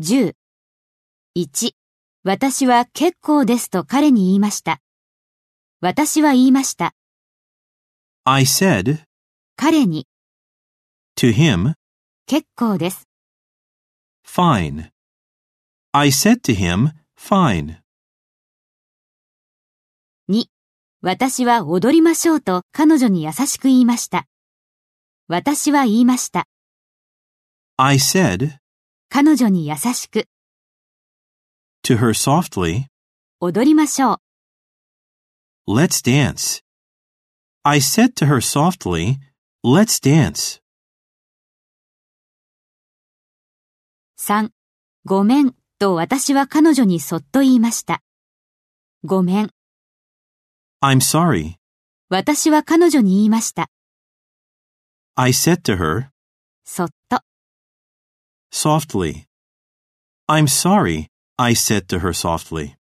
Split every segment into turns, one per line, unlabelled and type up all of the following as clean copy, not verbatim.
10。1、私は結構ですと彼に言いました。私は言いました。
I said
彼に
to him,
結構です。
fine. I said to him, fine.
2、私は踊りましょうと彼女に優しく言いました。私は言いました。
I said
彼女に優しく
to her softly,
踊りましょう。
let's dance. I said to her softly, let's dance.
3、ごめんと私は彼女にそっと言いました。ごめん。
I'm sorry.
私は彼女に言いました。
I said to her,
そっと。
softly. I'm sorry, I said to her softly.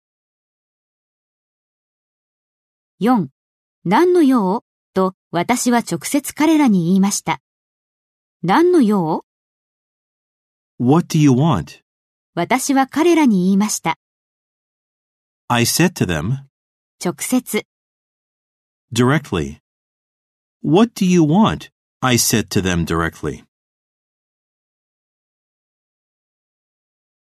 4、何の用と私は直接彼らに言いました。何の用
What do you want?
私は彼らに言いました。
I said to them,
直接。
directly. What do you want? I said to them directly.